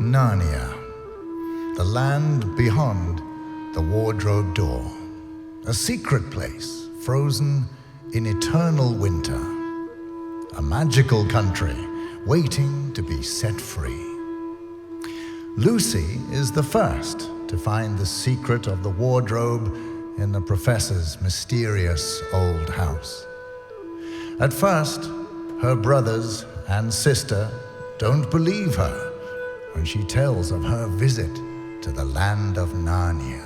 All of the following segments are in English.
Narnia, the land beyond the wardrobe door, a secret place frozen in eternal winter, a magical country waiting to be set free. Lucy is the first to find the secret of the wardrobe in the professor's mysterious old house. At first, her brothers and sister don't believe her when she tells of her visit to the land of Narnia.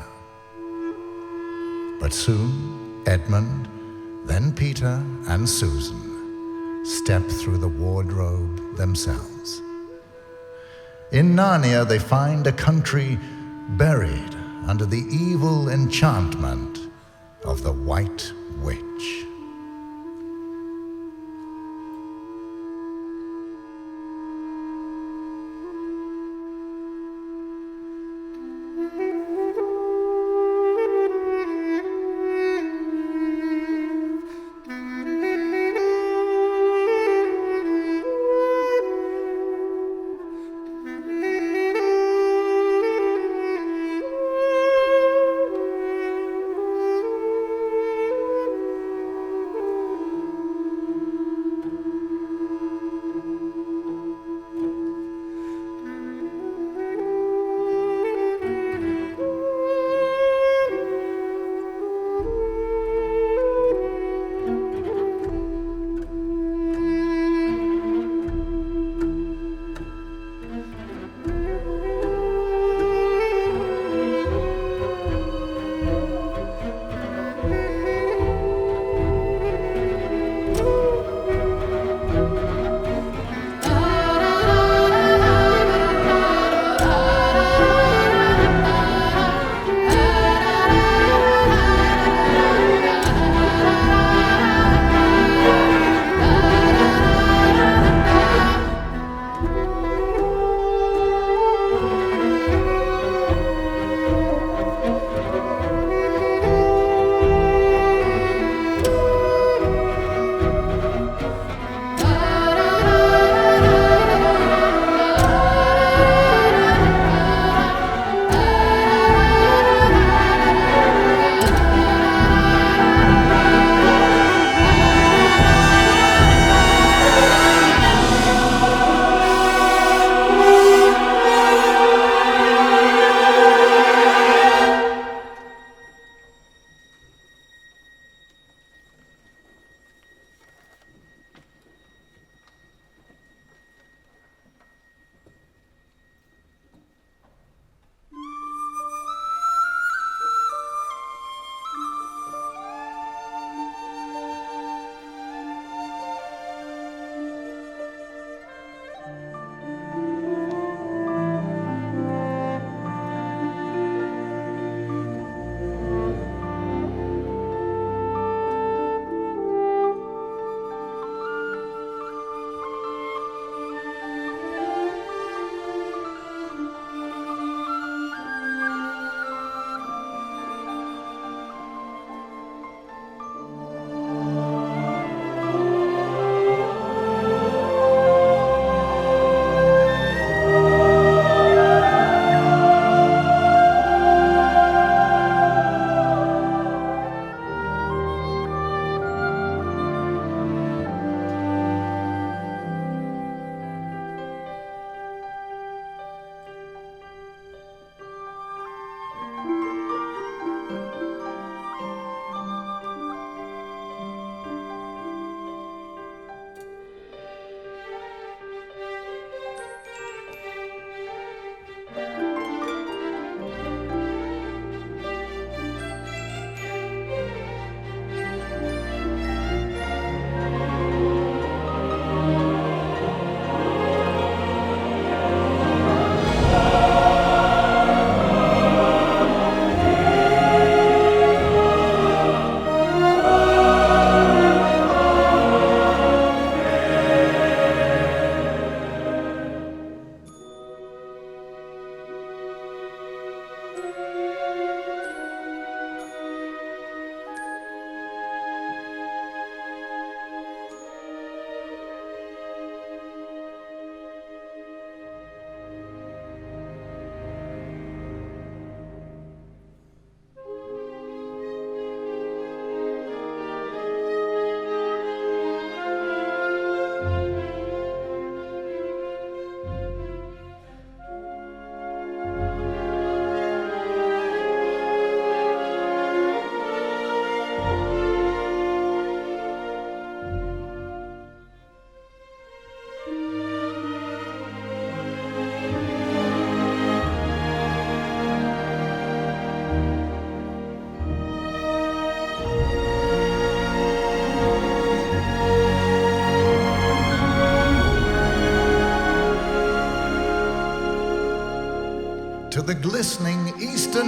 But soon, Edmund, then Peter and Susan step through the wardrobe themselves. In Narnia, they find a country buried under the evil enchantment of the White Witch.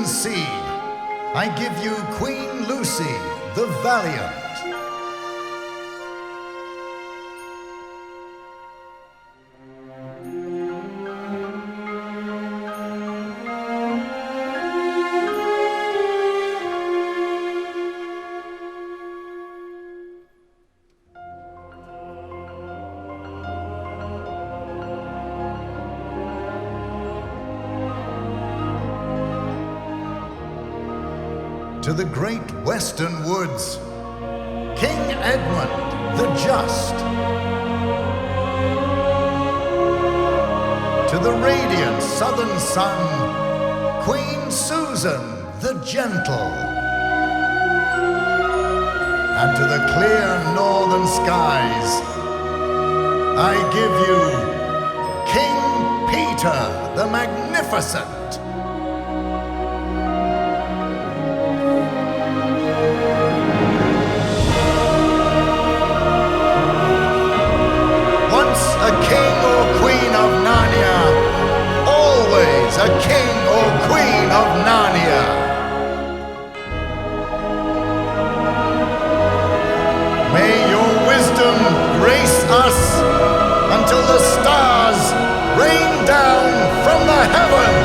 sea, I give you Queen Lucy, the Valiant. To the great western woods, King Edmund the Just. To the radiant southern sun, Queen Susan the Gentle. And to the clear northern skies, I give you King Peter the Magnificent. A king or queen of Narnia, always a king or queen of Narnia. May your wisdom grace us until the stars rain down from the heavens.